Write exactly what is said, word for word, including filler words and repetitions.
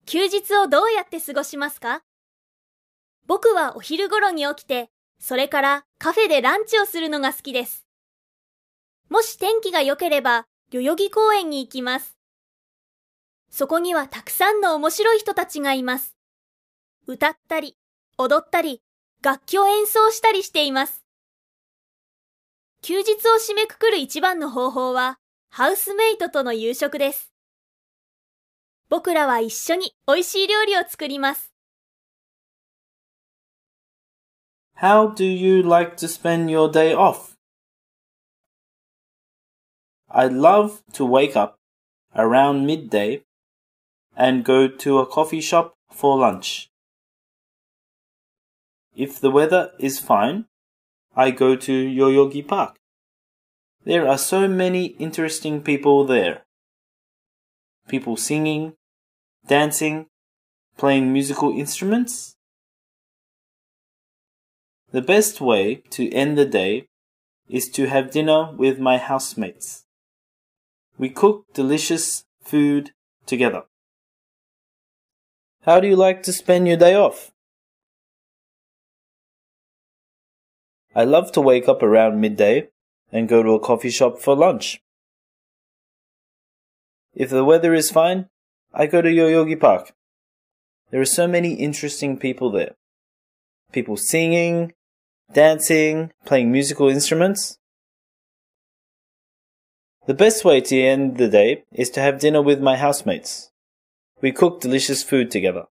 休日をどうやって過ごしますか？僕はお昼頃に起きて、それからカフェでランチをするのが好きです。もし天気が良ければ、代々木公園に行きます。そこにはたくさんの面白い人たちがいます。歌ったり、踊ったり、楽器を演奏したりしています。休日を締めくくる一番の方法は、ハウスメイトとの夕食です。僕らは一緒に美味しい料理を作ります。 How do you like to spend your day off? I love to wake up around midday and go to a coffee shop for lunch. If the weather is fine, I go to Yoyogi Park. There are so many interesting people there. People singing, dancing, playing musical instruments. The best way to end the day is to have dinner with my housemates. We cook delicious food together. How do you like to spend your day off? I love to wake up around midday and go to a coffee shop for lunch. If the weather is fine, I go to Yoyogi Park. There are so many interesting people there. People singing, dancing, playing musical instruments. The best way to end the day is to have dinner with my housemates. We cook delicious food together.